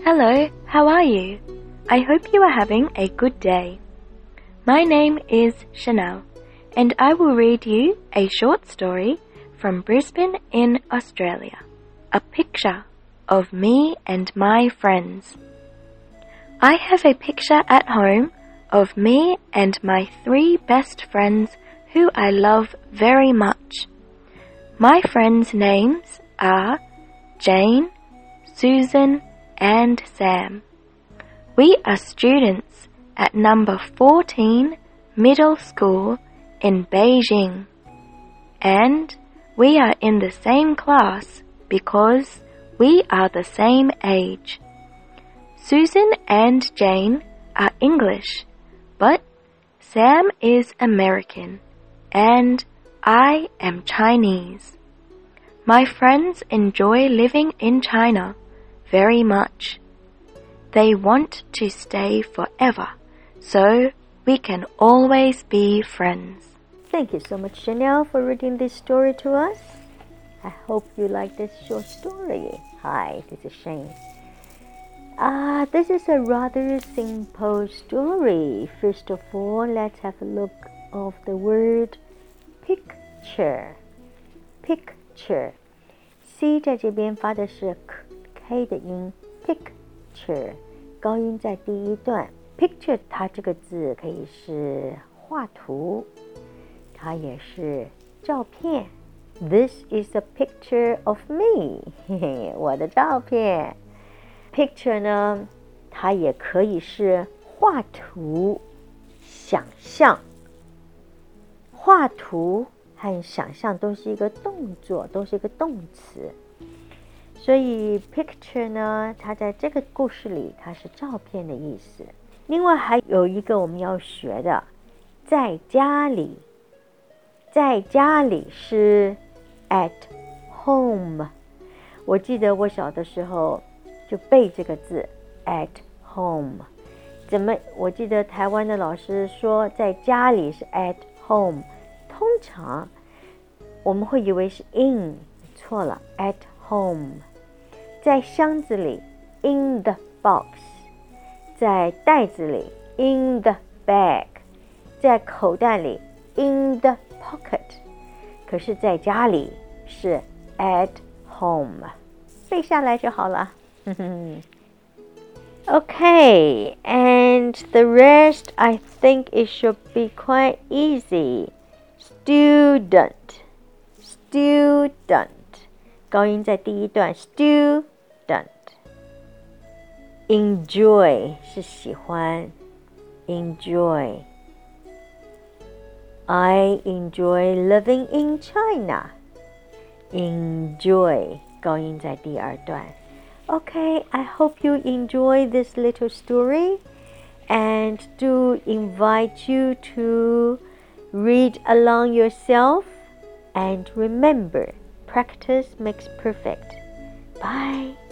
Hello, how are you? I hope you are having a good day. My name is Chanel, and I will read you a short story from Brisbane in Australia. A picture of me and my friends. I have a picture at home of me and my 3 best friends who I love very much. My friends' names are Jane, Susan, and Sam. We are students at number 14 middle school in Beijing, and we are in the same class because we are the same age. Susan and Jane are English, but Sam is American, and I am Chinese. My friends enjoy living in China very much. They want to stay forever, so we can always be friends. Thank you so much, Chanel, for reading this story to us. I hope you like this short story. Hi, this is Shane. This is a rather simple story. First of all, let's have a look of the word picture. Picture. C 在这边发的是 K 的音 Picture 高音在第一段 Picture 它这个字可以是画图，它也是照片。 This is a picture of me 嘿嘿，我的照片。 Picture 呢，它也可以是画图，想象。画图和想象都是一个动作，都是一个动词，所以 picture 呢，它在这个故事里它是照片的意思。另外还有一个我们要学的，在家里，在家里是 at home。 我记得我小的时候就背这个字 at home。 我记得台湾的老师说在家里是 at home， 通常我们会以为是 in， 错了 at home。 在箱子里 in the box， 在袋子里 in the bag， 在口袋里 in the pocket， 可是在家里是 at home， 背下来就好了。Okay, and the rest I think it should be quite easy. Student, student， 高音在第一段 student。 Enjoy 是喜欢 enjoy。 I enjoy living in China. Enjoy 高音在第二段。 Okay, I hope you enjoy this little story and do invite you to read along yourself, and remember, practice makes perfect. Bye.